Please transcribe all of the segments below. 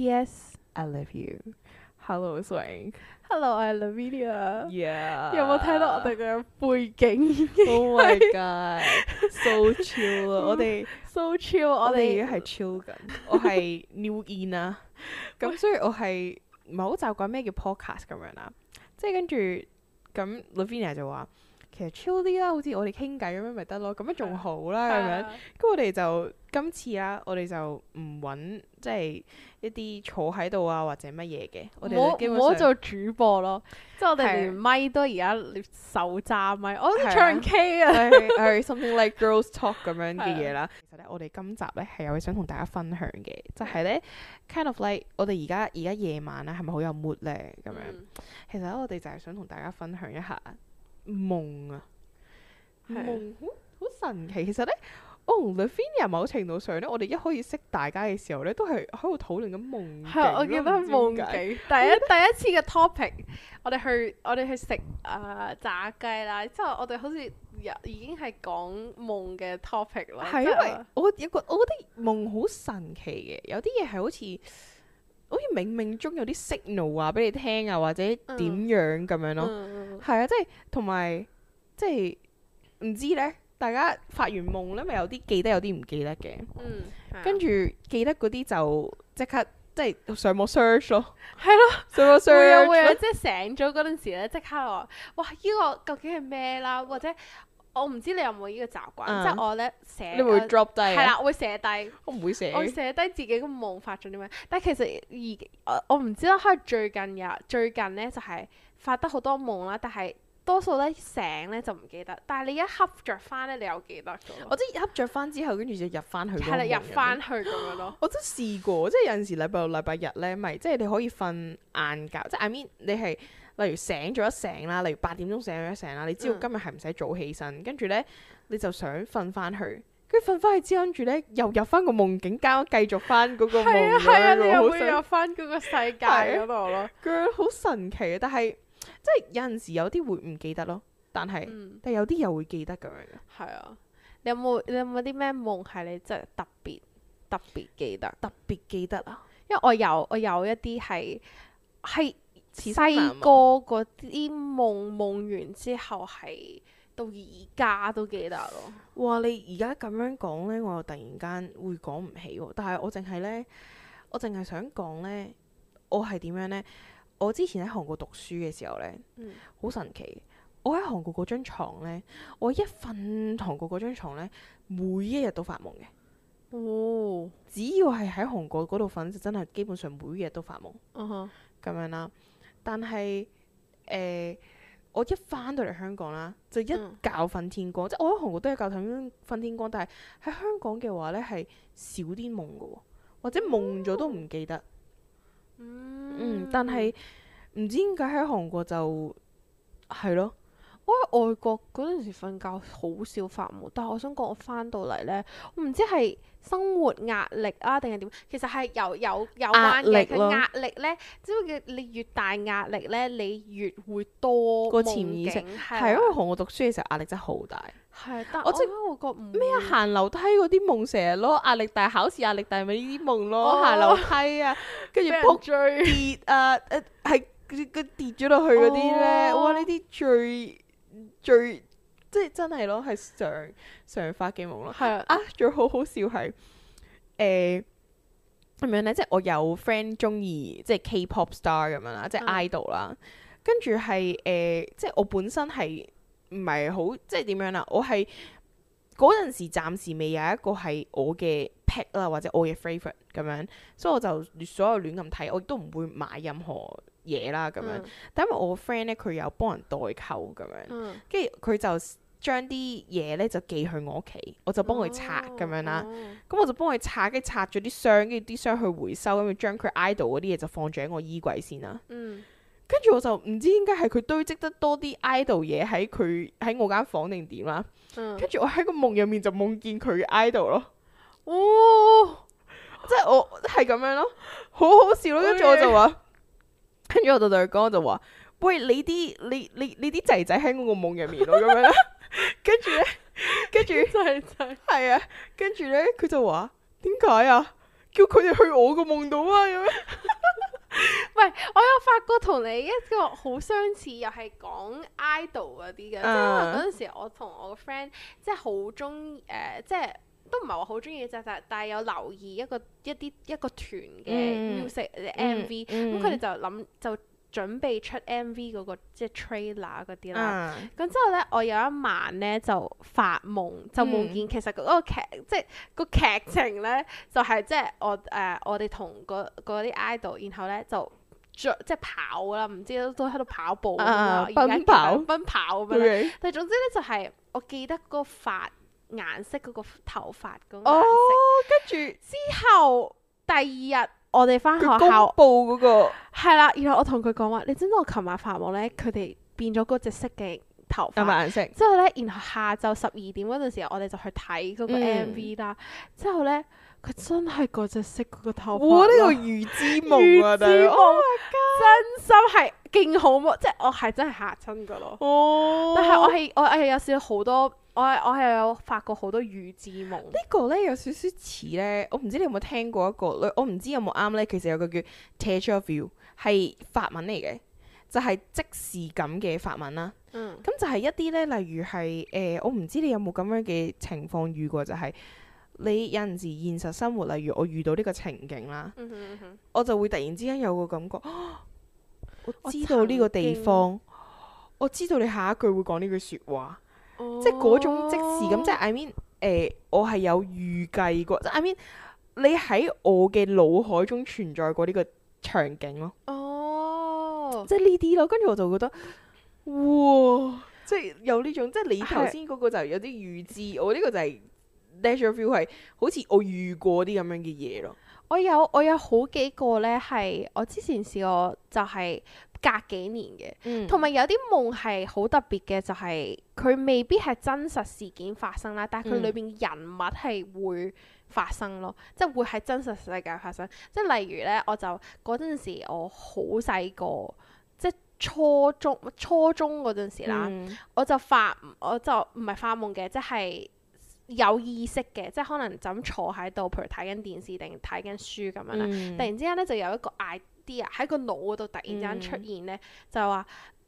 Yes, I love you. Hello, Swing. Hello， 我係 Lavinia。 Yeah. 有冇睇到我哋嘅背景 ？Oh my god，so chill 啊！我哋 so chill， 我哋而家係 chill 緊。我係 new in 啦，咁所以我係唔係好習慣咩叫 podcast 咁樣啦。即係跟住咁 Lavinia 就話。其實 chill 啲啦，好似我哋傾偈咁樣咪得咯，咁樣仲好啦咁樣。咁我哋就今次啦，我哋就唔揾即係一啲坐喺度啊或者乜嘢嘅。我哋基本上唔好做主播咯，即係我哋連咪都而家手揸咪，我都唱 K 啊， 係 something like girls talk 咁樣嘅嘢啦。其實咧，我哋今集咧係有嘢想同大家分享嘅，就係咧 kind of like 我哋而家夜晚咧係咪好有 mood 咧咁樣？其實咧我哋就係想同大家分享一下。夢啊，夢好神奇。其實咧，我同 Lavinia 某程度上咧，我哋一開始識大家嘅時候咧，都係喺度討論緊夢境。係， 我記得夢境。第一次嘅 topic， 我哋去食炸雞啦。之後我哋好似已經係講夢嘅 topic 啦。係因為我覺得夢好神奇嘅，有啲嘢係好似冥冥中有啲 signal 話俾你聽啊，或者點樣咁樣咯。係啊，即係同埋即係唔知咧，大家發完夢咧，咪有啲記得，有啲唔記得嘅。跟住記得嗰啲就即刻即係上網 search 咯。係咯，上網 search。 會啊，即係醒咗嗰陣時咧，即刻話哇，呢個究竟係咩啦？或者我唔知你有冇呢個習慣，即係我咧寫， 你會 drop 低？係啦，會寫低。 我唔會寫。 我寫低自己個夢發咗啲咩，但係其實我唔知啦，可能最近咧就係發得好多夢啦，但係多數咧醒咧就唔記得，但係你一瞌着翻咧，你又記得咗。 我即係瞌着翻之後，跟住就入翻去。係啦， 入翻去咁樣咯。 我都試過，即係有陣時禮拜六、禮拜日咧，咪即係你可以瞓晏覺，即係 I mean 你係。例如醒咗一醒啦，例如8點鐘醒咗一醒啦，你知道今日係唔使早起身，跟住咧你就想瞓翻去，跟住瞓翻去之後，跟住咧又入翻個夢境，繼續翻嗰個夢。係啊， 你又會入翻嗰個世界嗰度咯。佢好神奇啊！但係即係有陣時有啲會唔記得咯，但係有啲又會記得咁樣嘅。係啊， 你有冇啲咩夢係你真係特別記得？ 特別記得啊！ 因為我有一啲係。細個嗰啲夢完之後係到而家都記得咯。 哇！你而家咁樣講呢，我又突然間會講唔起喎。但係我淨係想講呢，我係點樣呢？我之前喺韓國讀書嘅時候呢，好神奇。我喺韓國嗰張床呢，我一瞓韓國嗰張床呢，每一日都發夢嘅。哦！只要係喺韓國嗰度瞓，就真係基本上每一日都發夢。咁樣啦。但係我一翻到嚟香港啦，就一覺瞓天光。即係我喺韓國都係覺瞓天光，但係喺香港嘅話呢，係少啲夢嘅喎，或者夢咗都唔記得。但係唔知點解喺韓國就係咯。 我喺外國嗰陣時瞓覺好少發夢，但係我想講我翻到嚟呢，我唔知係生活壓力啊定係點，其實係有關嘅。佢壓力呢，只不過你越大壓力呢，你越會多個潛意識。係因為韓國讀書嘅時候壓力真係好大。 係，但我覺唔咩行樓梯嗰啲夢成日咯，壓力大，考試壓力大咪呢啲夢咯，行樓梯啊，跟住仆跌啊，係佢跌咗落去嗰啲呢。哇！呢啲最即係真係咯，係常發嘅夢咯。係啊，最好笑係咁樣咧，即係我有 friend 中意即係 K-pop star 咁樣啦，即係 idol 啦。跟住係即係我本身係唔係好即係點樣啦？我係嗰陣時暫時未有一個係我嘅 pick 啦，或者我嘅 favorite 咁樣，所以我就所有亂咁睇，我亦都唔會買任何嘢啦咁樣。但因為我個 friend 咧，佢有幫人代購咁樣，跟住佢就將啲嘢咧就寄去我屋企，我就幫佢拆咁樣啦。咁我就幫佢拆，跟住拆咗啲箱，跟住啲箱去回收，跟住將佢 idol 嗰啲嘢就放住喺我衣櫃先啦。跟住我就唔知點解係佢堆積得多啲 idol 嘢喺我間房定點啦。跟住我喺個夢入面就夢見佢嘅 idol 咯。即係我係咁樣咯，好好笑咯。跟住我就話，跟住我就對佢講，我就話：喂，你啲仔仔喺我個夢入面咯，咁樣啦。跟住仔仔係啊，跟住咧佢就話點解啊？ 叫佢哋去我個夢度啊咁樣。 唔係，我有發覺同你一個好相似，又係講 idol 嗰啲嘅，即係嗰陣時我同我個 friend 即係好中意即係都唔係話好中意嘅，但係有留意一個團嘅 music MV，咁佢哋就諗就準備出 MV 嗰個即係 trailer 嗰啲啦。咁之後咧，我有一晚咧就發夢，就夢見其實嗰個劇即係個劇情咧，就係即係我哋同嗰啲 idol，然後咧就即係跑啦，唔知都喺度跑步奔跑咁樣。但係總之咧就係我記得嗰個髮顏色嗰個頭髮嗰個顏色。 跟住之後第二日。我哋翻學校公佈嗰個係啦，然後我同佢講話，你知唔知我琴晚發夢咧？佢哋變咗嗰隻色嘅頭髮顏色。之後咧，然後下晝12點嗰陣時候，我哋就去睇嗰個 MV 啦。之後咧，佢真係嗰隻色嗰個頭髮。哇！呢個預知夢啊，大佬！真心係勁好夢，即係我係真係嚇親噶咯。但係我係有少少好多。我係有發過好多預知夢。呢個咧有少少似咧，我唔知你有冇聽過一個，我唔知有冇啱咧。其實有個叫 déjà vu 係法文嚟嘅，就係即視感嘅法文啦。咁就係一啲咧，例如係我唔知你有冇咁樣嘅情況遇過，就係你有陣時現實生活，例如我遇到呢個情景啦，我就會突然之間有個感覺，我知道呢個地方，我知道你下一句會講呢句説話。即係嗰種即時咁，即係 I mean，我係有預計過，即係 I mean，你喺我嘅腦海中存在過呢個場景咯。即係呢啲咯，跟住我就覺得，哇！即係有呢種，即係你頭先嗰個就有啲預知，我呢個就係 déjà vu 係好似我遇過啲咁樣嘅嘢咯。 我有好幾個咧，係我之前試過，就係隔幾年嘅，同埋有啲夢係好特別嘅，就係佢未必係真實事件發生啦，但係佢裏邊人物係會發生咯，即係會喺真實世界發生。即係例如咧，我就嗰陣時我好細個，即係初中嗰陣時啦，我就唔係發夢嘅，即係有意識嘅，即係可能就咁坐喺度，譬如睇緊電視定睇緊書咁樣啦。突然之間咧就有一個 idea 喺個腦嗰度突然之間出現咧，就話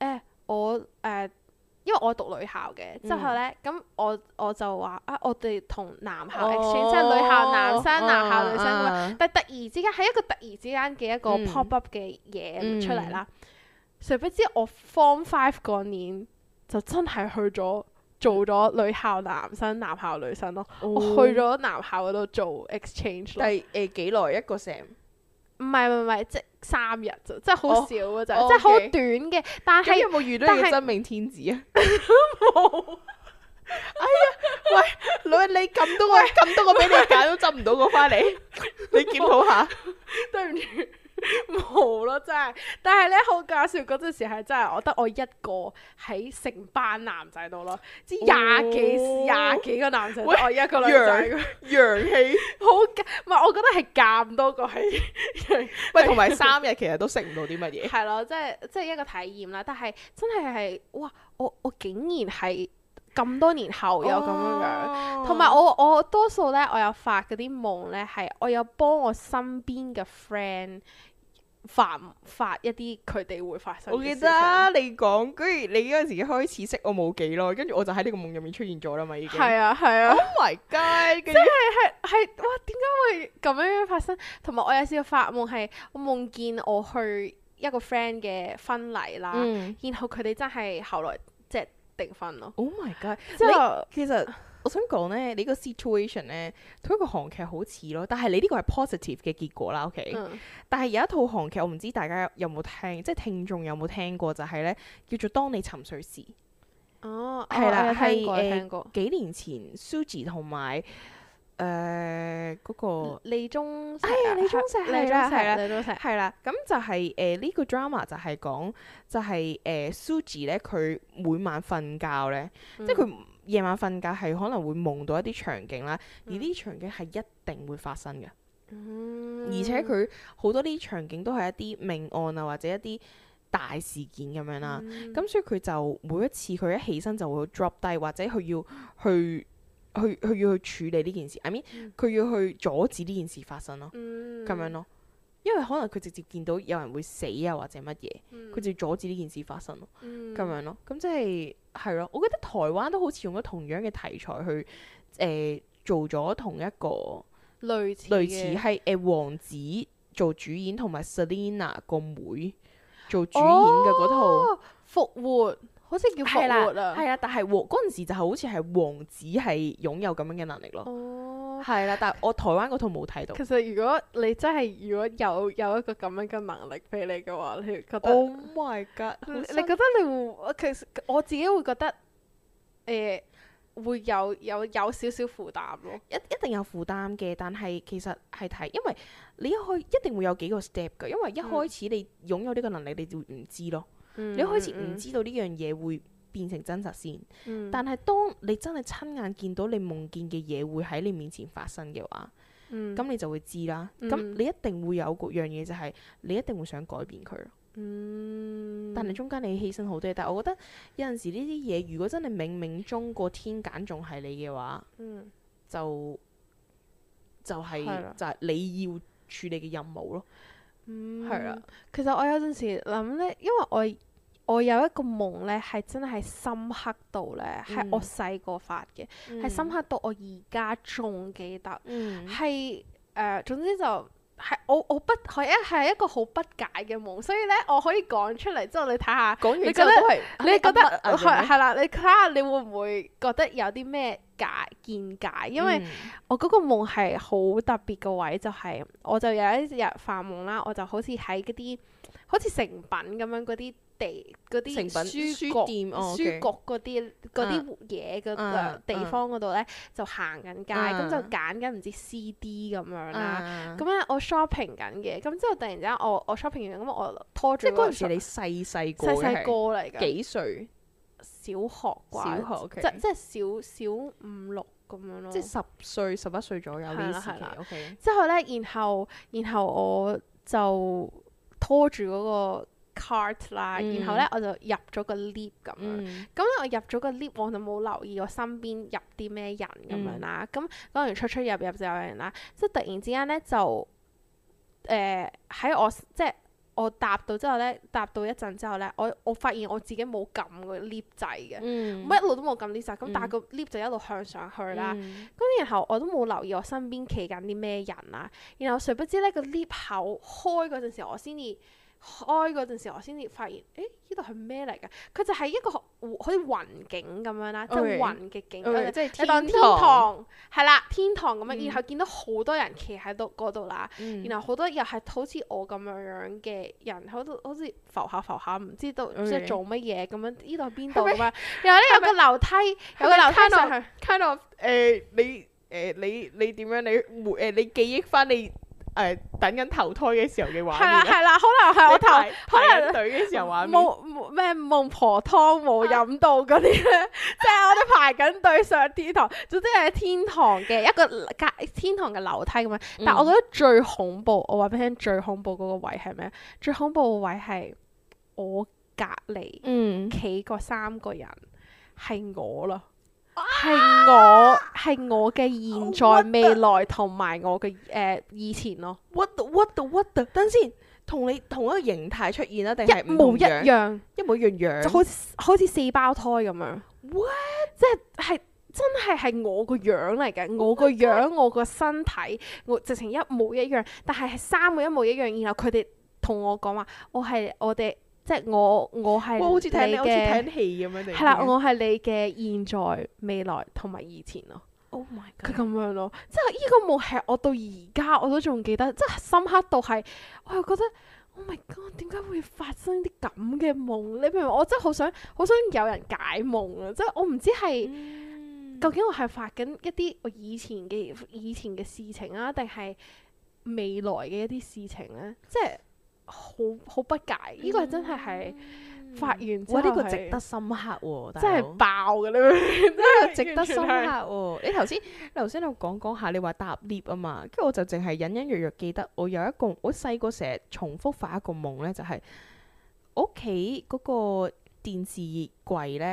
因為我讀女校嘅，之後咧咁我就話我哋同男校 exchange，即係女校男生、男校女生咁樣。但係突然之間係一個突然之間嘅一個 pop up 嘅嘢出嚟啦。誰不知我 Form 5嗰年就真係去咗。做咗女校男生、男校女生咯，我去咗男校嗰度做 exchange 咯。 但幾耐一個 sem？ 唔係，即係3日啫，即係好少嘅啫，即係好短嘅。但係有冇遇到你嘅真命天子啊？冇。哎呀，喂，女，你咁多個俾你揀都執唔到個翻嚟，你檢討下。 對唔住。冇咯，真係，但係咧好搞笑，嗰陣時係真係我得我一個喺成班男仔度咯，即係廿幾個男仔，我一個女仔， 陽氣好唔係，我覺得係咁多個係， 喂，同埋3日其實都食唔到啲乜嘢， 係咯，即係一個體驗啦，但係真係哇，我竟然係咁多年後有咁樣，同埋我多數咧，我有發嗰啲夢咧，係我有幫我身邊嘅 friend。發一啲佢哋會發生嘅事情。我記得你講，居然你嗰陣時開始識我冇幾耐，跟住我就喺呢個夢入面出現咗啦嘛，已經。係啊。Oh my god！ 真係哇，點解會咁樣發生？同埋我有試過發夢係，我夢見我去一個 friend 嘅婚禮啦，然後佢哋真係後來即係訂婚咯。 Oh my god！ 之後其實。我想講咧，你個 situation 咧，同一個韓劇好似咯，但係你呢個係 positive 嘅結果啦，OK？但係有一套韓劇，我唔知大家有冇聽，即係聽眾有冇聽過，就係咧叫做《當你沉睡時》。 哦， 係啦， 係聽過。 幾年前 Suzy 同埋嗰個李鐘錫，係啦，咁就係呢個 drama 就係講就係Suzy 咧，佢每晚瞓覺咧，即係佢。夜晚瞓覺係可能會夢到一啲場景啦，而呢啲場景係一定會發生嘅，而且佢好多啲場景都係一啲命案啊，或者一啲大事件咁樣啦。咁所以佢就每一次佢一起身就會 drop 低，或者佢要去佢要去處理呢件事，I mean 佢要去阻止呢件事發生咯，咁樣咯。因為可能佢直接見到有人會死啊或者乜嘢，佢就要阻止呢件事發生咯，咁樣咯。咁即係咯，我覺得台灣都好似用咗同樣嘅題材去做咗同一個類似係王子做主演，同埋 Selina 個妹做主演嘅嗰套復活。好似叫復活啊！ 係啊，但係嗰陣時就好似係王子係擁有咁樣嘅能力咯。係啦，但係我台灣嗰套冇睇到。 其實如果你真係有一個咁樣嘅能力俾你嘅話，你覺得 Oh my god！ 你覺得你會其實我自己會覺得會有少少負擔咯。 一定有負擔嘅，但係其實係睇，因為你一定會有幾個 step 㗎。因為一開始你擁有呢個能力，你就會唔知咯。你一開始唔知道呢樣嘢會變成真實先，但係當你真係親眼見到你夢見嘅嘢會喺你面前發生嘅話，咁你就會知啦。咁你一定會有嗰樣嘢，就係你一定會想改變佢。但係中間你犧牲好多嘢，但係我覺得有陣時呢啲嘢，如果真係冥冥中個天揀中係你嘅話，就係你要處理嘅任務咯。係啦， 其實我有陣時諗咧，因為我有一個夢咧，係真係深刻到咧，係我細個發嘅，係深刻到我而家仲記得，係總之就係我不係一個好不解嘅夢，所以咧我可以講出嚟之後，你睇下，你覺得係啦，你睇下你會唔會覺得有啲咩見解？因為我嗰個夢係好特別嘅位，就係我就有一日發夢啦，我就好似喺嗰啲好似成品咁樣嗰啲書店書局嗰啲嘢嘅地方嗰度咧，就行緊街，咁就揀緊唔知 CD 咁樣啦。咁咧我 shopping 緊嘅，咁之後突然之間我 shopping 完，咁我拖住嗰陣時你細個嚟㗎， 幾歲？ 小學啩，即係小5、6咁樣咯。 即係10歲、11歲左右呢時期。OK。之後咧，然後我就拖住嗰個 cart 啦，然後咧我就入咗個 lift 咁樣。咁我入咗個 lift，我就冇留意我身邊入啲咩人咁樣啦。咁講完出入就有人啦，即係突然之間咧就喺我即係。我搭到一陣之後咧，我發現我自己冇撳個 lift 掣嘅，我一路都冇撳 lift 掣，咁但係個 lift 就一路向上去啦。咁然後我都冇留意我身邊企緊啲咩人啦。然後誰不知咧，個 lift 口開嗰陣時，我先至發現，呢度係咩嚟㗎？佢就係一個好似雲景咁樣啦，即係雲嘅景，即係當天堂係啦，天堂咁樣。然後見到好多人企喺嗰度啦，然後好多又係好似我咁樣嘅人，好似浮下，唔知道即係做乜嘢咁樣。呢度係邊度咁樣？然後咧有個樓梯上去。 kind of 你點樣？你記憶翻你等緊投胎嘅時候嘅畫面。 係啦，可能係我排緊隊嘅時候畫面。 冇咩孟婆湯冇飲到嗰啲咧，即係我哋排緊隊上天堂，總之係天堂嘅一個天堂嘅樓梯咁樣。但係我覺得最恐怖，我話俾你聽，最恐怖嗰個位係咩？最恐怖嘅位係我隔離企嗰3個人係我啦。係我嘅現在、未來同埋我嘅以前咯。 What the？ 等先，同你同一個形態出現啊？定係一模一樣？ 一模一樣， 就好似4胞胎咁樣。What？即係真係我個樣嚟嘅，我個樣，我個身體，我直情一模一樣。但係3個一模一樣，然後佢哋同我講話，我哋。即係我係好似睇戲咁樣。 係啦，我係你嘅現在、未來同埋以前咯。 Oh my god！ 佢咁樣咯，即係呢個夢係我到而家我都仲記得，即係深刻到係，我又覺得 Oh my god！點解會發生啲咁嘅夢？你明唔明？我真係好想有人解夢啊！即係我唔知係究竟我係發緊一啲我以前嘅事情啊，定係未來嘅一啲事情咧？即係。好不解，呢個真係發完之後呢個值得深刻喎， 真係爆嘅呢個值得深刻喎。你頭先有講下，你話搭 lift 啊嘛，跟住我就淨係隱隱約約記得我有一個，我細個成日重複發一個夢咧，就係我屋企嗰個電視櫃咧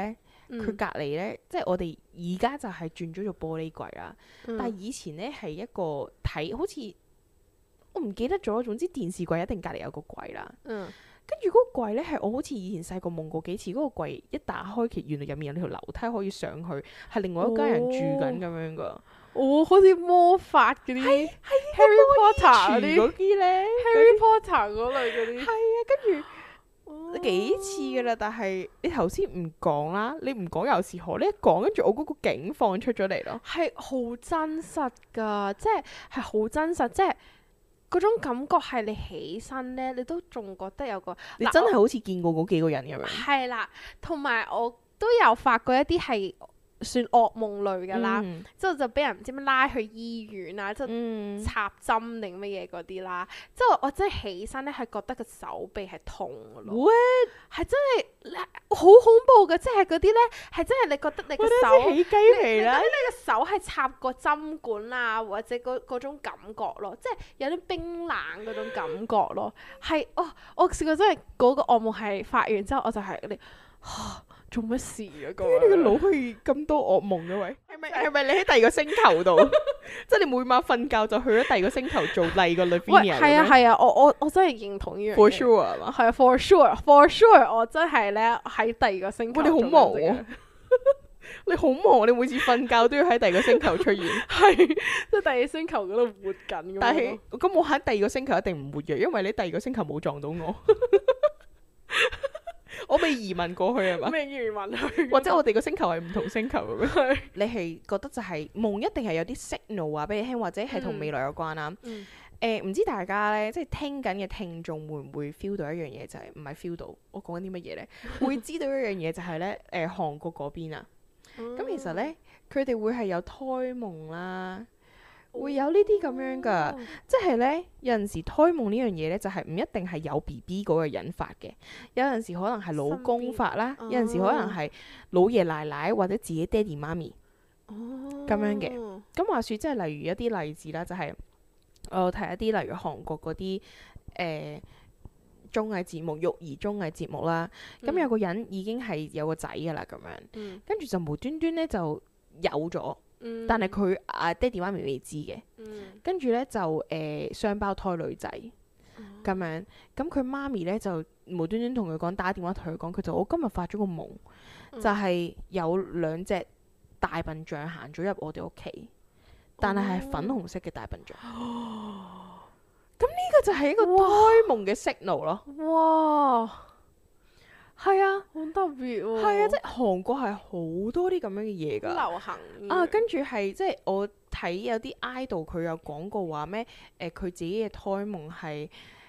佢隔離咧，即係我哋而家就係轉咗做玻璃櫃啦。但係以前咧係一個睇好似我唔記得咗，總之電視櫃一定隔離有個櫃啦。跟住嗰個櫃咧係我好似以前細個夢過幾次，嗰個櫃一打開，其實原來入面有條樓梯可以上去，係另外一家人住緊咁樣噶。 好似魔法嗰啲，Harry Potter 嗰啲咧，Harry Potter 嗰類嗰啲。 係啊，跟住幾次噶啦，但係你頭先唔講啦，你唔講又是何？你一講，跟住我嗰個景放出咗嚟咯， 係好真實噶，即係好真實，即係。嗰種感覺係你起身咧，你都仲覺得有個， 你真係好似見過嗰幾個人咁樣。 係啦，同埋我都有發過一啲係算噩夢類㗎啦，之後就俾人唔知咩拉去醫院啊，即係插針定乜嘢嗰啲啦。之後我真係起身咧，係覺得個手臂係痛㗎咯。係真係好恐怖㗎，即係嗰啲咧係真係你覺得你個手起雞皮啦， 你個手係插個針管啊，或者嗰種感覺咯，即係有啲冰冷嗰種感覺咯。係我試過真係嗰個噩夢係發完之後，我就係你做乜事啊？ 點解你個腦可以咁多噩夢嘅喂？係咪你喺第二個星球度？即係你每晚瞓覺就去咗第二個星球做第二個 Lavinia？ 係啊，我真係認同呢樣嘢。 For sure 係嘛？ 係啊，for sure，我真係咧喺第二個星球。 你好忙喎！你好忙，你每次瞓覺都要喺第二個星球出現。 係，即係第二星球嗰度活緊。 但係咁我喺第二個星球一定唔活躍，因為你第二個星球冇撞到我。我未移民過去係嘛？ 未移民去， 或者我哋個星球係唔同星球咁樣。你係覺得就係夢一定係有啲 signal 話俾你聽，或者係同未來有關啦。唔知大家咧，即係聽緊嘅聽眾會唔會 feel 到一樣嘢？就係唔係 feel 到？我講緊啲乜嘢咧？會知道一樣嘢就係咧，韓國嗰邊啊。咁其實咧，佢哋會係有胎夢啦。會有呢啲咁樣噶，即係呢，有陣時胎夢呢樣嘢呢，就係唔一定係有 BB 嗰個人發嘅，有陣時可能係老公發啦，有陣時可能係老爺奶奶或者自己爹哋媽咪咁樣嘅。咁話說即係例如一啲例子啦，就係我有睇一啲例如韓國嗰啲綜藝節目、育兒綜藝節目啦。咁有個人已經係有個仔噶啦，咁樣，跟住就無端端呢就有咗。但係佢爹哋媽咪未知嘅，跟住呢就雙胞胎女仔咁樣，咁佢媽咪呢就無端端同佢講，打電話同佢講，佢就我今日發咗個夢，就係有兩隻大笨象行咗入我哋屋企，但係粉紅色嘅大笨象。咁呢個就係一個胎夢嘅 signal 咯。 哇！係啊，好特別喎。 係啊，即係韓國係好多啲咁樣嘅嘢㗎。 流行啊，跟住係即係我睇有啲 idol 佢有講過話咩？佢自己嘅胎夢係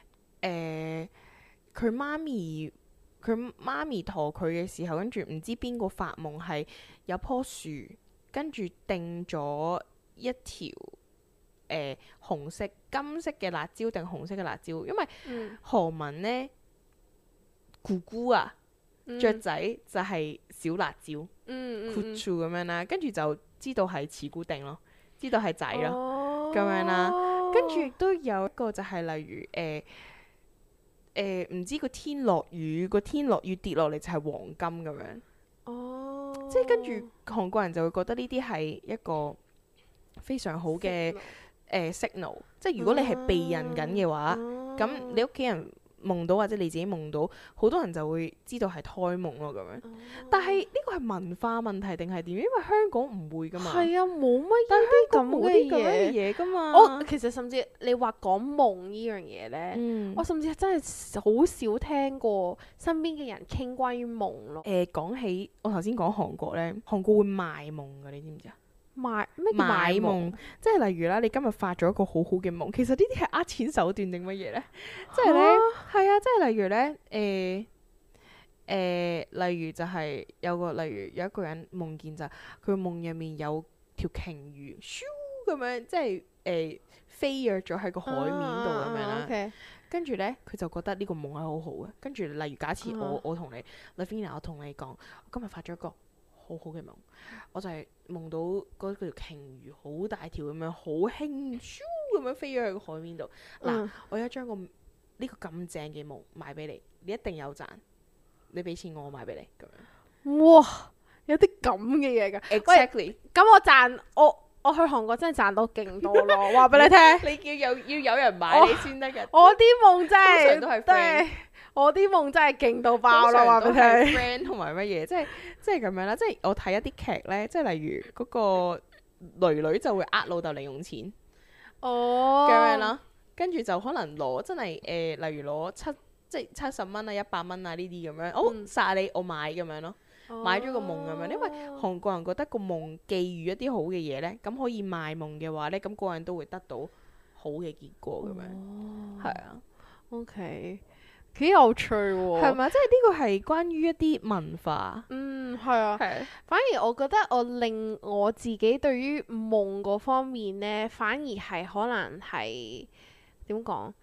佢媽咪陀佢嘅時候，跟住唔知邊個發夢係有棵樹，跟住定咗一條紅色、金色嘅辣椒定紅色嘅辣椒，因為韓文呢，姑姑啊。雀仔就係小辣椒，Kuchu 咁樣啦，跟住就知道係慈姑定咯，知道係仔咯，咁樣啦。跟住亦都有一個就係例如唔知個天落雨跌落嚟就係黃金咁樣。即係跟住韓國人就會覺得呢啲係一個非常好嘅signal，即係如果你係避孕緊嘅話，咁你屋企人夢到或者你自己夢到，好多人就會知道係胎夢咯咁樣。但係呢個係文化問題定係點？因為香港唔會噶嘛。係啊，冇乜啲咁嘅嘢噶嘛。 我其實甚至你話講夢呢樣嘢呢，我甚至真係好少聽過身邊嘅人傾關於夢咯。 講起我頭先講韓國呢，韓國會賣夢噶，你知唔知啊？ 買夢，即係例如啦，你今日發咗一個好好嘅夢，其實呢啲係呃錢手段定乜嘢呢？即係呢，係啊，即係例如呢，例如就係例如有一個人夢見就佢夢入面有條鯨魚，咻咁樣，即係飛躍咗喺個海面度咁樣啦。跟住呢，佢就覺得呢個夢係好好嘅。跟住例如假設我同你 Lavinia 我同你講，我今日發咗一個好好嘅夢，我就係夢到嗰條鯨魚好大條咁樣，好輕咻咁樣飛咗去個海面度。嗱，我而家將呢個咁正嘅夢賣俾你，你一定有賺。你俾錢我賣俾你咁樣。 哇！有啲咁嘅嘢㗎。 Exactly。 咁我去韓國真係賺到勁多咯，話俾你聽。 你要有人買你先得㗎。 我啲夢真係， 通常都係 friend。 我啲夢真係勁到爆咯，話俾你聽。 friend 同埋乜嘢，即係咁樣啦。即係我睇一啲劇咧，即係例如嗰個女就會呃老豆零用錢，咁樣啦。跟住就可能攞真係例如攞70蚊啊、100蚊啊呢啲咁樣，殺你我買咁樣咯。買咗個夢咁樣，因為韓國人覺得個夢寄予一啲好嘅嘢呢，咁可以賣夢嘅話呢，咁個人都會得到好嘅結果咁樣。係啊 ，OK，幾有趣喎。 係咪？即係呢個係關於一啲文化。 係啊。反而我覺得令我自己對於夢嗰方面呢，反而係可能係點講？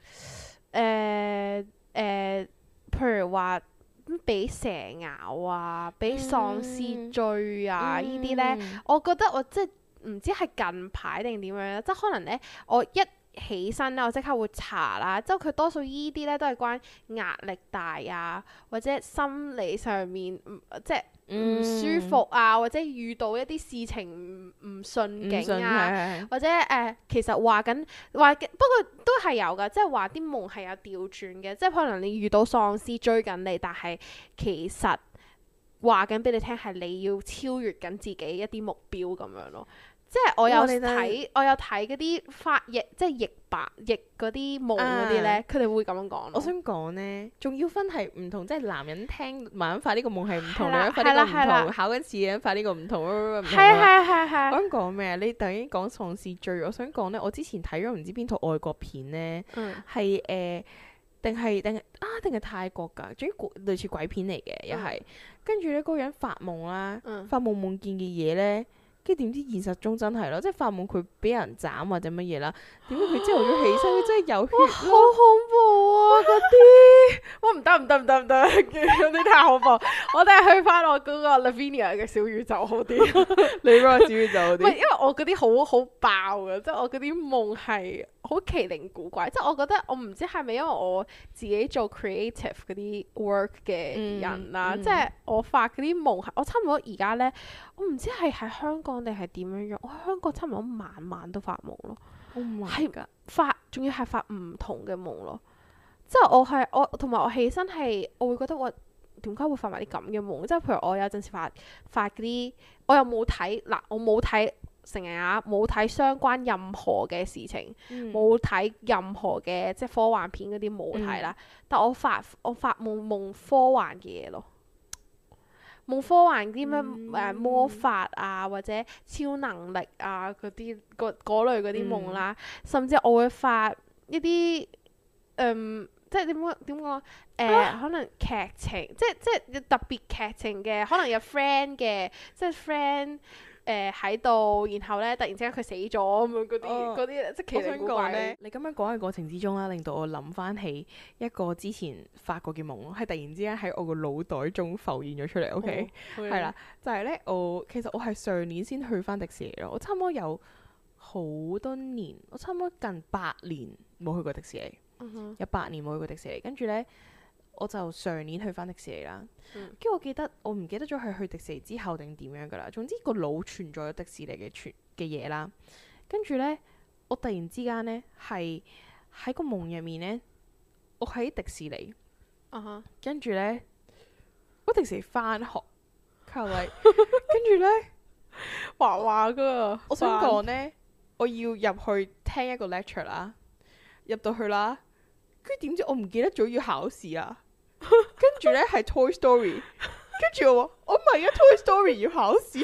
譬如話，俾蛇咬啊，俾喪屍追啊，呢啲呢，我覺得我即係唔知係近排定點樣，即係可能呢，我一起身咧，我即刻會查啦。即係佢多數依啲呢，都係關壓力大啊，或者心理上面即係唔舒服啊，或者遇到一啲事情唔順境啊，或者其實話不過都係有㗎，即係話啲夢係有調轉嘅，即係可能你遇到喪屍追緊你，但係其實話緊俾你聽係你要超越緊自己一啲目標咁樣咯。即係我有睇嗰啲翻譯，即係譯嗰啲夢嗰啲咧，佢哋會咁樣講。 我想講咧，仲要分係唔同，即係男人聽慢慢發呢個夢係唔同，女人發呢個唔同，考緊試嘅人發呢個唔同。係。我想講咩啊？你突然間講喪屍追，我想講咧，我之前睇咗唔知邊套外國片咧，係定係泰國㗎，總之類似鬼片嚟嘅，又係。跟住咧，嗰個人發夢啦，發夢見嘅嘢咧。跟住點知現實中真係咯，即係發夢佢俾人斬或者乜嘢啦，點解佢朝頭早起身佢真係有血咯，好恐怖啊嗰啲！ 哇唔得，嗰啲太恐怖。我哋係去翻我嗰個 Lavinia 嘅小宇宙好啲。 你嗰個小宇宙好啲？ 唔係，因為我嗰啲好爆嘅，即係我嗰啲夢係好奇靈古怪。即係我覺得我唔知係咪因為我自己做 creative 嗰啲 work 嘅人啦，即係我發嗰啲夢係我差唔多而家咧，我唔知係喺香港定係點樣樣。我喺香港差唔多晚晚都發夢咯，係仲要係發唔同嘅夢咯。即係我同埋我起身係，我會覺得我點解會發埋啲咁嘅夢？即係譬如我有陣時發嗰啲，我又冇睇嗱，我冇睇成日冇睇相關任何嘅事情，冇睇任何嘅即係科幻片嗰啲冇睇啦。但我發夢科幻嘅嘢咯，夢科幻啲咩魔法啊，或者超能力啊嗰類嗰啲夢啦，甚至我會發一啲即係點講？可能劇情，即係特別劇情嘅，可能有 friend 嘅，即係 friend 喺度，然後咧突然之間佢死咗咁樣嗰啲，即係奇靈古怪咧。 你咁樣講嘅過程之中啦，令到我諗翻起一個之前發過嘅夢，係突然之間喺我個腦袋中浮現咗出嚟。OK，係啦，就係咧，其實我係上年先去翻迪士尼咯。我差唔多有好多年，我差唔多近8年冇去過迪士尼。有8年冇去過迪士尼，跟住呢，我就上年去翻迪士尼啦。跟住我唔記得咗係去迪士尼之後定點樣噶啦。總之個腦存在咗迪士尼嘅嘢啦。跟住呢，我突然之間呢，係喺個夢入面呢，我喺迪士尼。跟住呢，我迪士尼翻學，跟住呢， 畫噶。 我想講呢，我要入去聽一個 lecture 啦，入到去啦。跟住點知我唔記得咗要考試啊！跟住咧係 Toy Story， 跟住我話我唔係啊 Toy Story 要考試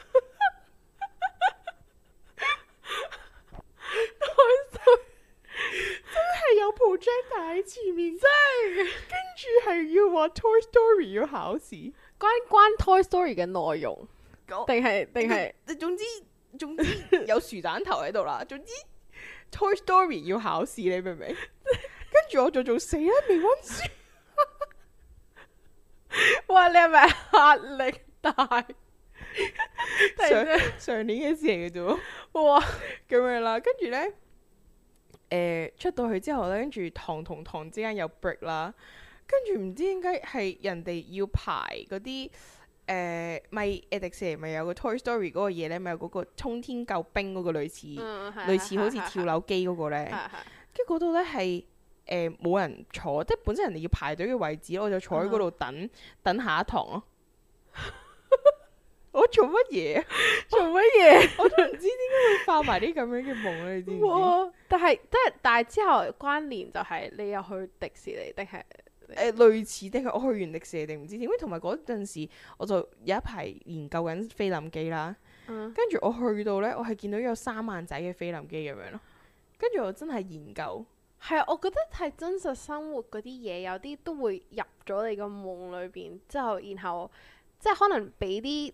，Toy Story 真係有 projector 喺前面，真係跟住係要話 Toy Story 要考試， 關 Toy Story 嘅內容，定係總之有薯蛋頭喺度啦，總之 Toy Story 要考試，你明唔明？跟住我就做死啦，未溫書。 哇！你係咪壓力大？ 上年嘅事嚟嘅啫。哇！咁樣啦，跟住呢，出到去之後呢，跟住堂同堂之間有 break 啦，跟住唔知點解係人哋要排嗰啲咪迪士尼咪有個 Toy Story 嗰個嘢咧，咪有嗰個沖天救兵嗰個類似好似跳樓機嗰個咧，跟住嗰度咧係冇人坐，即係本身人哋要排隊嘅位置，我就坐喺嗰度等下一堂咯。我做乜嘢？做乜嘢？我都唔知點解會發埋啲咁樣嘅夢咧，你知唔知？ 但係之後關聯就係你又去迪士尼定係？ 類似定係我去完迪士尼定唔知點？同埋嗰陣時我就有一排研究緊菲林機啦，跟住我去到呢，我係見到有3萬仔嘅菲林機咁樣咯，跟住我真係研究。 係啊，我覺得係真實生活嗰啲嘢，有啲都會入咗你個夢裏邊，之後然後即係可能俾啲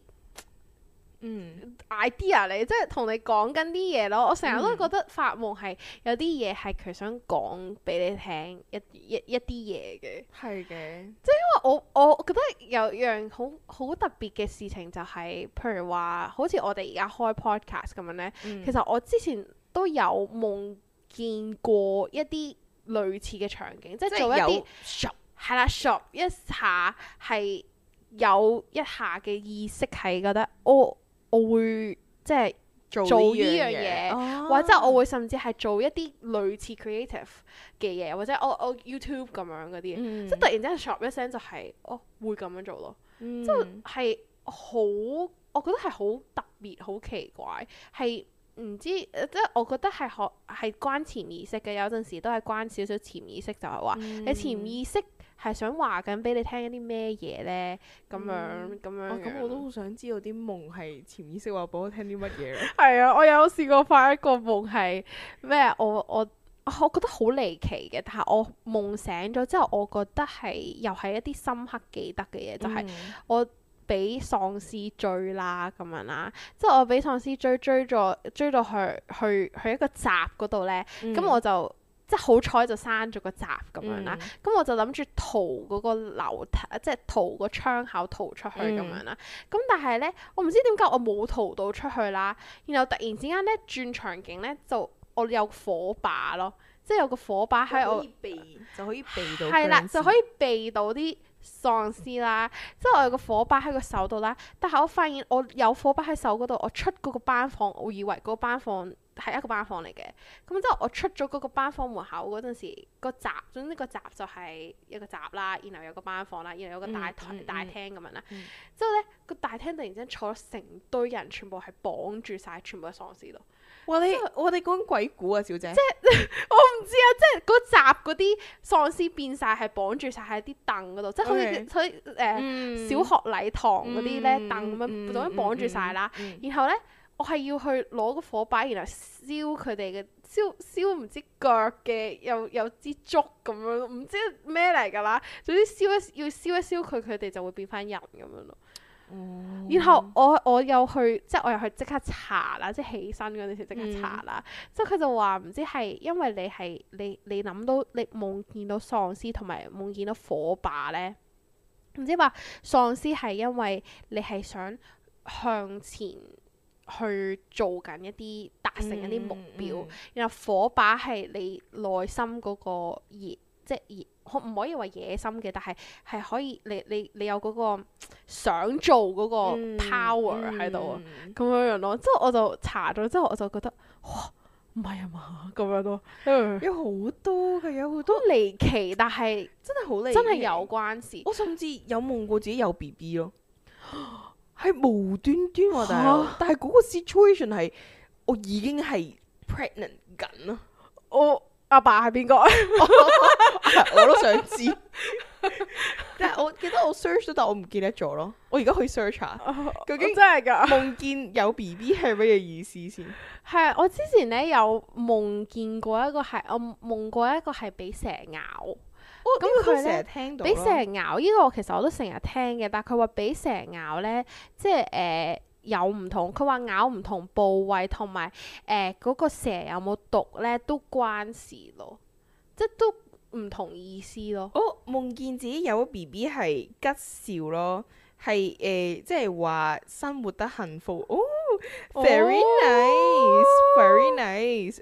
idea 你，即係同你講緊啲嘢咯。我成日都覺得發夢係有啲嘢係佢想講俾你聽一啲嘢嘅。係嘅，即係因為我覺得有樣好特別嘅事情就係，譬如話好似我哋而家開 podcast 咁樣呢。其實我之前都有夢見過一啲類似嘅場景，即係做一啲係啦，shop 一下係有一下嘅意識係覺得我會即係做呢樣嘢，或者我會甚至係做一啲類似 creative 嘅嘢，或者我 YouTube 咁樣嗰啲，即係突然之間 shop 一聲就係會咁樣做咯，即係好，我覺得係好特別，好奇怪，係唔知即係我覺得係關潛意識嘅，有陣時都係關少少潛意識，就係話你潛意識係想話緊俾你聽一啲咩嘢呢？咁樣。 咁我都好想知道啲夢係潛意識話俾我聽啲乜嘢。 係啊，我有試過發一個夢係咩？我覺得好離奇嘅，但係我夢醒咗之後，我覺得又係一啲深刻記得嘅嘢，就係我俾喪屍追啦咁樣啦，即係我俾喪屍追到去一個閘嗰度呢。咁我就。即係好彩就閂咗個閘咁樣啦，咁我就諗住逃嗰個樓梯，即係逃個窗口逃出去咁樣啦。咁但係呢，我唔知點解我冇逃到出去啦。然後突然之間呢，轉場景呢，就我有火把咯，即係有個火把喺我就可以避到。 係啦，就可以避到啲喪屍啦。即係我有個火把喺個手度啦，但係我發現我有火把喺手嗰度，我出嗰個班房，我以為嗰個班房係一個班房嚟嘅，咁之後我出咗嗰個班房門口嗰陣時，個閘，總之個閘就係一個閘啦，然後有個班房啦，然後有個大廳咁樣啦。之後呢個大廳突然之間坐咗成堆人，全部係綁住晒，全部係喪屍咯。 哇！我哋講緊鬼故啊，小姐。 即係我唔知啊，即係嗰閘嗰啲喪屍變晒係綁住晒喺啲凳嗰度，即係好似小學禮堂嗰啲呢凳咁樣，總之綁住晒啦。然後呢。我係要去攞個火把，然後燒佢哋嘅燒唔知腳嘅，有支竹咁樣，唔知咩嚟㗎啦。總之要燒一燒佢哋就會變翻人咁樣咯。然後我又去即刻查啦，即係起身嗰陣時即刻查啦。即係佢就話唔知係因為你諗到你夢見到喪屍同埋夢見到火把呢，唔知話喪屍係因為你係想向前去做緊一啲達成一啲目標，然後火把係你內心嗰個熱，即係唔可以話野心嘅，但係可以你有嗰個想做嗰個 power 喺度啊，咁樣樣咯。之後我就查咗之後，我就覺得哇，唔係啊嘛，咁樣咯， 有好多嘅，有好多離奇，但係真係好離奇， 真係有關事。 我甚至有夢過自己有 BB 咯。係無端端喎，但係嗰個 situation 係我已經係 pregnant 緊咯。 我阿爸係邊個？ 我都想知。但係我記得我 search 咗，但我唔記得咗咯。我而家去 search 下，究竟真係㗎夢見有 BB 係乜嘢意思先？ 係啊，我之前呢有夢見過一個係，我夢過一個係俾蛇咬。咁佢呢俾蛇咬呢個其實我都成日聽嘅，但係佢話俾蛇咬呢，即係有唔同，佢話咬唔同部位同埋嗰個蛇有冇毒呢都關事咯，即係都唔同意思咯。 夢見自己有 BB 係吉兆咯，係即係話生活得幸福。Very nice，very nice。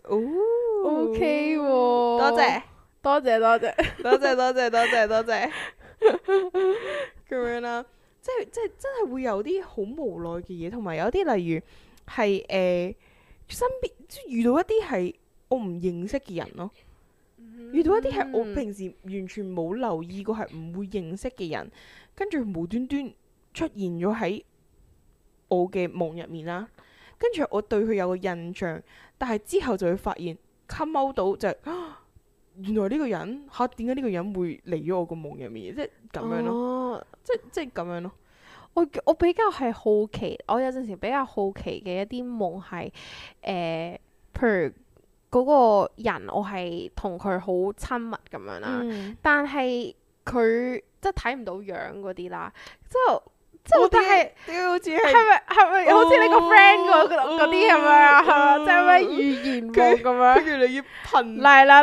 OK 喎， 多謝。多謝咁樣啦。 即係真係會有啲好無奈嘅嘢，同埋有啲例如係身邊即係遇到一啲係我唔認識嘅人咯。遇到一啲係我平時完全冇留意過係唔會認識嘅人，跟住無端端出現咗喺我嘅夢入面啦。跟住我對佢有個印象，但係之後就會發現 come out 到就係、原來呢個人點解呢個人會嚟咗我個夢入面，即係咁樣咯，即係咁樣咯。 我比較係好奇，我有陣時比較好奇嘅一啲夢係譬如嗰個人我係同佢好親密咁樣啦，但係佢即係睇唔到樣嗰啲啦，即係但係好似係咪好似你個 friend 嗰啲咁樣啊？係咪即係咩預言夢咁樣？ 跟住你要噴嚟啦，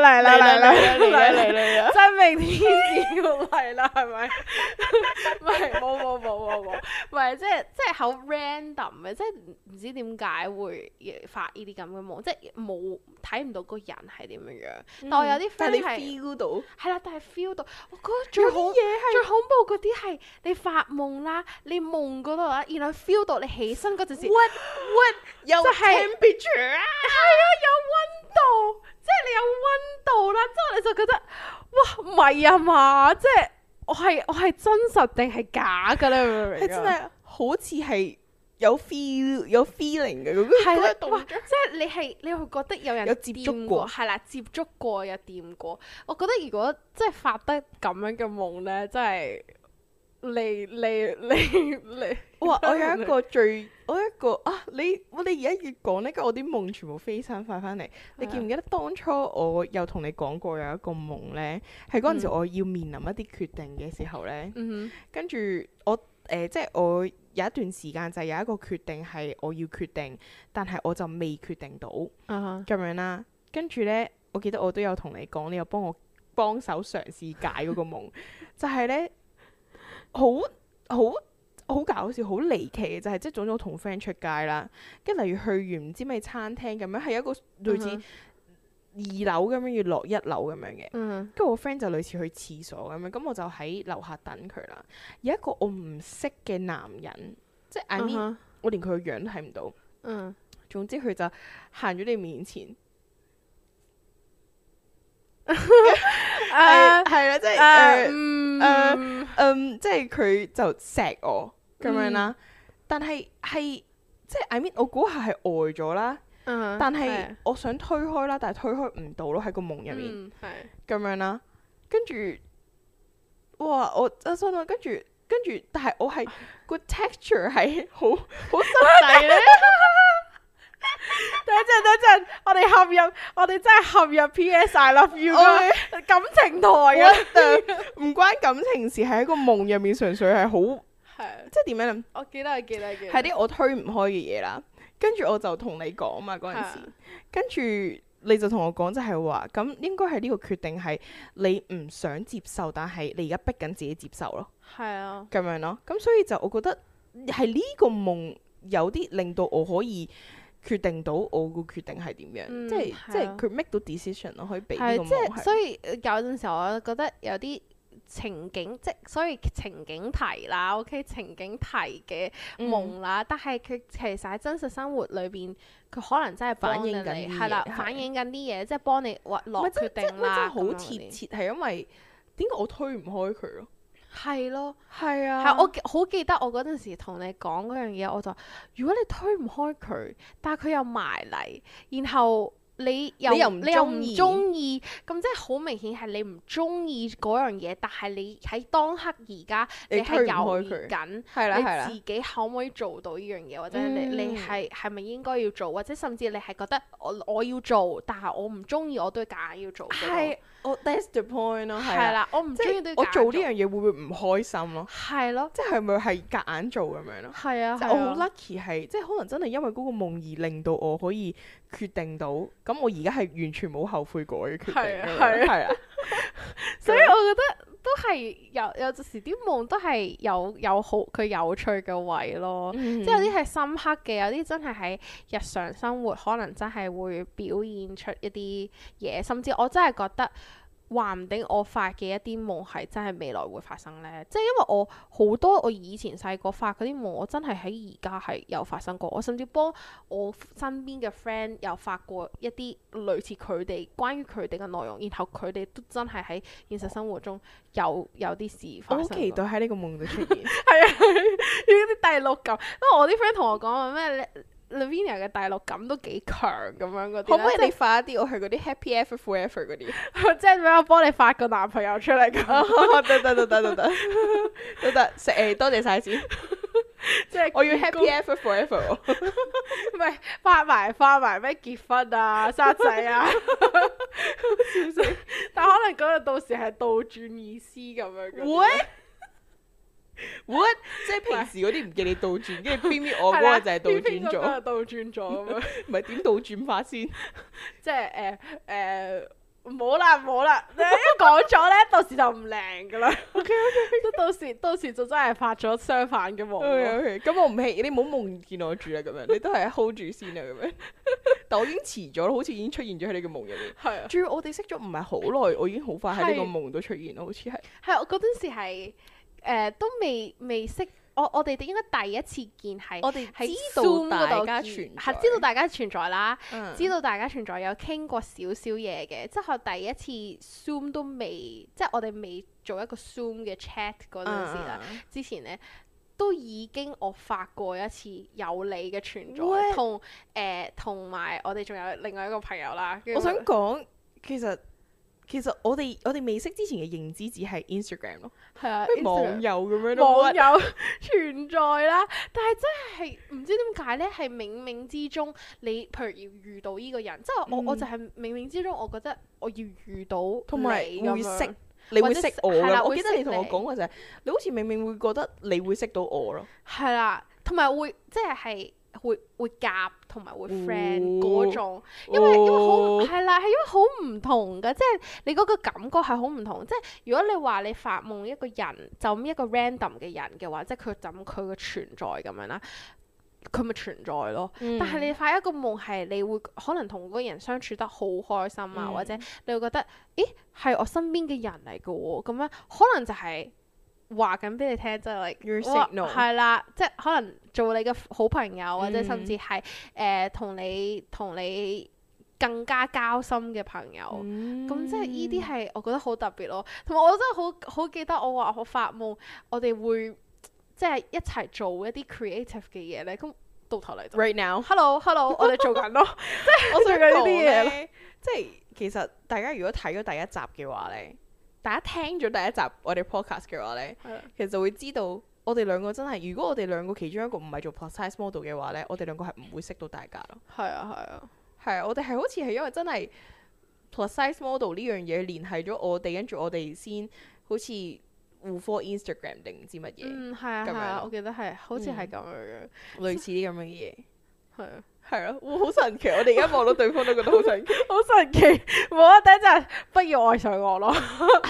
真命天子要嚟啦，係咪？唔係冇，唔係即係好 random 嘅，即係唔知點解會發呢啲咁嘅夢，即係冇睇唔到個人係點樣樣。但我有啲 friend 係 feel 到， 係啦，但係 feel 到，我覺得最恐怖嗰啲係你發夢啦。你夢嗰度啦，然後 feel 到你起身嗰陣時 what 有 temperature 啊， 係啊，有溫度，即係你有溫度啦，之後你就覺得哇唔係啊嘛，即係我係真實定係假㗎咧？明唔明？係真係好似係有 feeling 嘅嗰個動作， 即係你會覺得有人接觸過， 係啦，接觸過有掂過。我覺得如果即係發得咁樣嘅夢咧，真係〜你哇！我有一個我哋而家越講呢，跟住我啲夢全部飛身快翻嚟。你記唔記得當初我有同你講過有一個夢呢？係嗰陣時我要面臨一啲決定嘅時候呢。跟住我即係我有一段時間就係有一個決定係我要決定，但係我就未決定到咁樣啦。跟住呢，我記得我都有同你講，你又幫手嘗試解嗰個夢，就係呢。好搞笑，好離奇嘅就係即係總之我同 friend 出街啦，跟住例如去完唔知咩餐廳咁樣，係一個類似2樓咁樣要落1樓咁樣嘅，跟住我 friend 就類似去廁所咁樣，咁我就喺樓下等佢啦。有一個我唔識嘅男人，即係 I mean 我連佢個樣都睇唔到，總之佢就行咗你面前。係啦，即係即係佢就錫我咁樣啦，但係即係 I mean 我嗰下係呆咗啦，但係我想推開啦，但係推開唔到咯，喺個夢入面咁樣啦，跟住哇我心諗跟住，但係我係個 texture 係好實際咧。 等陣，我哋真係陷入 PS I Love You 嘅感情台啊！ 唔關感情事，係喺個夢入面，純粹係好，即係點樣？ 我記得，係啲我推唔開嘅嘢啦。跟住我就同你講嘛嗰陣時，跟住你就同我講就係話，咁應該係呢個決定係你唔想接受，但係你而家逼緊自己接受咯。係啊，咁樣咯。咁所以就我覺得係呢個夢有啲令到我可以決定到我個決定係點樣，即係佢 make 到 decision 咯，可以俾呢個夢係。 所以有陣時候我覺得有啲情景，所以情景題啦 ，OK， 情景題嘅夢啦，但係佢其實喺真實生活裏邊，佢可能真係反映緊係啦，反映緊啲嘢，即係幫你落決定啦。 真係好貼切，係因為點解我推唔開佢咯？ 係咯， 係啊， 係我好記得我嗰陣時同你講嗰樣嘢，我就如果你推唔開佢，但係佢又埋嚟，然後你又唔中意，咁即係好明顯係你唔中意嗰樣嘢，但係你喺當刻而家你係猶豫緊，你自己可唔可以做到呢樣嘢，或者你係咪應該要做，或者甚至你係覺得我要做，但係我唔中意，我都夾硬要做。係， that's the point 咯， 係啦，我唔中意都要我做呢樣嘢會唔會唔開心咯？ 係咯， 即係咪係夾硬做咁樣咯？ 係啊， 我好 lucky 係，即係可能真係因為嗰個夢而令到我可以決定到，咁我而家係完全冇後悔過嘅決定。係啊， 所以我覺得都係有陣時啲夢都係有好佢有趣嘅位咯，即係有啲係深刻嘅，有啲真係喺日常生活可能真係會表現出一啲嘢，甚至我真係覺得話唔定我發嘅一啲夢係真係未來會發生呢？即係因為我好多我以前細個發嗰啲夢，我真係喺而家係有發生過。我甚至幫我身邊嘅 friend 有發過一啲類似佢哋關於佢哋嘅內容，然後佢哋都真係喺現實生活中有啲事發生。 我好期待喺呢個夢度出現。 係啊，呢啲第六感，因為我啲 friend 同我講話咩Lavinia 嘅第六感都幾強咁樣嗰啲， 可唔可以你發一啲我係嗰啲 Happy Ever Forever 嗰啲？ 即係俾我幫你發個男朋友出嚟咁。 得，誒多謝晒先。即係我要 Happy Ever Forever。 唔係發埋咩結婚啊、生仔啊，笑死！但可能嗰日到時係倒轉意思咁樣。 會？What？ 即係平時嗰啲唔記你倒轉，跟住偏我嗰個就係倒轉咗。 嗰個倒轉咗咁樣。 唔係點倒轉法先？ 即係唔好啦，你一講咗咧，到時就唔靈噶啦。OK， 到時就真係發咗相反嘅夢。 OK， 咁我唔氣，你唔好夢見我住啦，咁樣你都係 hold 住先啊，咁樣。但我已經遲咗啦，好似已經出現咗喺你嘅夢入面。係啊。仲要我哋識咗唔係好耐，我已經好快喺呢個夢度出現咯，好似係。係， 我嗰陣時係。都未識，我哋應該第一次見係我哋知道大家存在， 係知道大家存在啦，知道大家存在有傾過少少嘢嘅，之後第一次 Zoom 都未，即係我哋未做一個 Zoom 嘅 chat 嗰陣時啦，之前呢都已經我發過一次有你嘅存在，同埋我哋仲有另外一個朋友啦。 我想講其實我哋未識之前嘅認知只係 Instagram 咯，係啊，網友咁樣咯， 網友存在啦。但係真係唔知點解呢，係冥冥之中你譬如要遇到呢個人，即係我就係冥冥之中，我覺得我要遇到同埋會識，你會識我㗎。我記得你同我講過就係，你好似冥冥會覺得你會識到我咯。係啦，同埋會即係。會夾同埋會 friend 嗰種，因為好係啦，係因為好唔同㗎，即係你嗰個感覺係好唔同。即係如果你話你發夢一個人就咁一個 random 嘅人嘅話，即係佢就咁佢嘅存在咁樣啦，佢咪存在咯。但係你發一個夢係你會可能同嗰個人相處得好開心啊，或者你會覺得咦係我身邊嘅人嚟㗎喎，咁樣可能就係。話緊俾你聽，即係 Your signal 係啦，即係可能做你嘅好朋友，或者甚至係同你更加交心嘅朋友。咁即係呢啲係我覺得好特別咯。同埋我真係好記得我話我發夢，我哋會即係一齊做一啲 creative 嘅嘢咧。咁到頭嚟就 right now，hello， 我哋做緊咯。即係我做緊呢啲嘢咯。 即係其實大家如果睇咗第一集嘅話咧。大家聽咗第一集我哋 podcast 嘅話呢，其實就會知道我哋兩個真係，如果我哋兩個其中一個唔係做 plus size model 嘅話呢，我哋兩個係唔會識到大家咯。係啊，我哋係好似係因為真係 plus size model 呢樣嘢聯繫咗我哋，跟住我哋先好似互 follow Instagram 定唔知乜嘢。係啊， 我記得係好似係咁樣嘅， 類似啲咁嘅嘢。係啊。係啊， 好神奇！我哋而家望到對方都覺得好神奇， 好神奇！冇啊，等一陣，不要愛上我咯。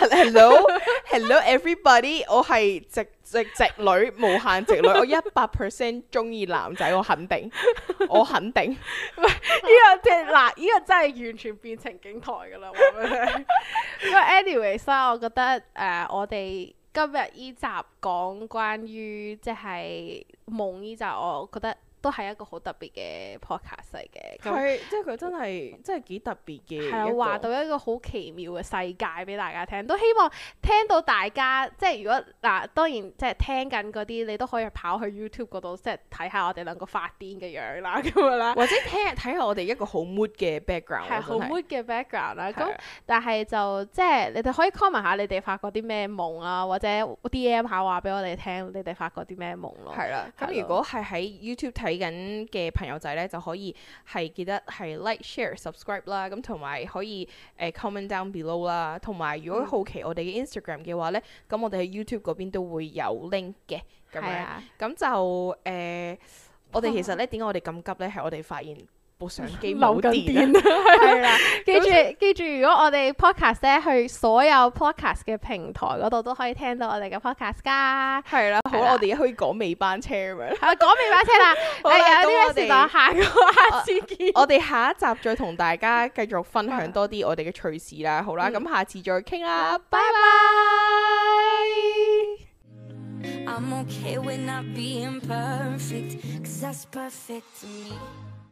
Hello everybody， 我係直女，無限直女，我100% 中意男仔，我肯定。唔係呢個即係嗱，呢個真係完全變情景台噶啦，話俾你聽。因為 anyways 啦，我覺得我哋今日呢集講關於即係夢呢集，我覺得。都係一個好特別嘅 podcast 嚟嘅， 係即係佢真係幾特別嘅， 係啊，話到一個好奇妙嘅世界俾大家聽，都希望聽到大家即係如果嗱，當然即係聽緊嗰啲，你都可以跑去 YouTube 嗰度，即係睇下我哋兩個發癲嘅樣啦，咁樣啦， 或者睇下我哋一個好 mood 嘅 background， 係好 mood 嘅 background 啦。咁但係就即係你哋可以 comment 下你哋發過啲咩夢啊，或者 DM 下話俾我哋聽，你哋發過啲咩夢咯。係啦， 咁如果係喺 YouTube 睇緊嘅朋友仔咧，就可以係記得係 like share subscribe 啦，咁同埋可以comment down below 啦，同埋如果好奇我哋嘅 Instagram 嘅話咧，咁我哋喺 YouTube 嗰邊都會有 link 嘅，咁樣，咁就我哋其實咧點解我哋咁急咧？係我哋發現部相機冇電係啦，記住，如果我哋 podcast 咧去所有 podcast 嘅平台嗰度都可以聽到我哋嘅 podcast 噶。 係啦，好啦，我哋可以講尾班車咁樣。 係講尾班車啦，有啲咩事講下次見。 我哋下一集再同大家繼續分享多啲我哋嘅趣事啦。好啦，咁下次再傾啦，拜拜。